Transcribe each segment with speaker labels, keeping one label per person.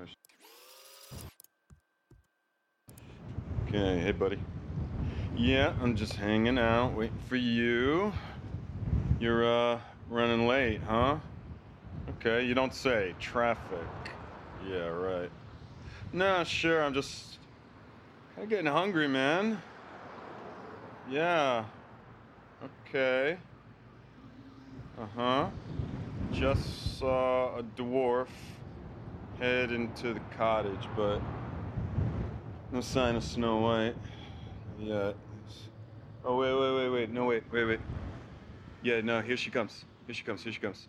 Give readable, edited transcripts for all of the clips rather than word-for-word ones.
Speaker 1: Okay, hey buddy. Yeah, I'm just hanging out, waiting for you. You're running late, huh? Okay, you don't say. Traffic. Yeah, right. Nah, sure, I'm just kinda getting hungry, man. Yeah. Okay. Uh-huh. Just saw a dwarf head into the cottage, but no sign of Snow White yet. Oh, wait. No, wait. Yeah, no, here she comes. Here she comes.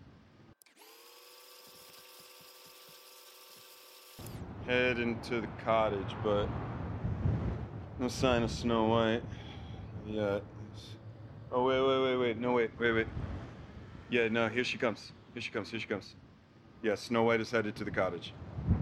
Speaker 1: Head into the cottage, but no sign of Snow White yet. Oh, wait. No, wait. Yeah, no, here she comes. Yeah, Snow White is headed to the cottage.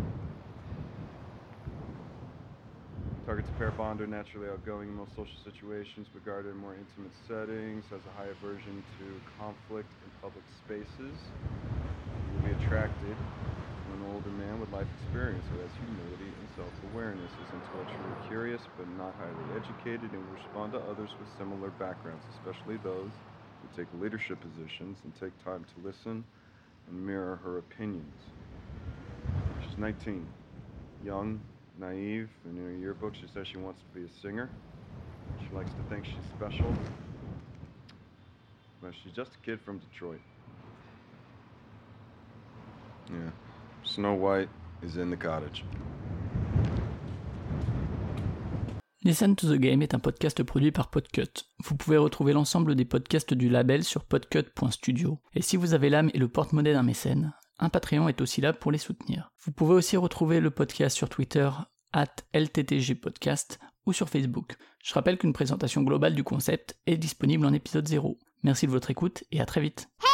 Speaker 1: Targets a pair bond are naturally outgoing in most social situations, but guarded in more intimate settings, has a high aversion to conflict in public spaces. You will be attracted to an older man with life experience who has humility and self-awareness, is intellectually curious but not highly educated, and will respond to others with similar backgrounds, especially those who take leadership positions and take time to listen and mirror her opinions. She's 19, young, naive, and in her yearbook she says she wants to be a singer. She likes to think she's special, but she's just a kid from Detroit. Yeah, Snow White is in the cottage.
Speaker 2: Listen to the Game est un podcast produit par Podcut. Vous pouvez retrouver l'ensemble des podcasts du label sur podcut.studio. Et si vous avez l'âme et le porte-monnaie d'un mécène, un Patreon est aussi là pour les soutenir. Vous pouvez aussi retrouver le podcast sur Twitter @LTTGpodcast ou sur Facebook. Je rappelle qu'une présentation globale du concept est disponible en épisode 0. Merci de votre écoute et à très vite.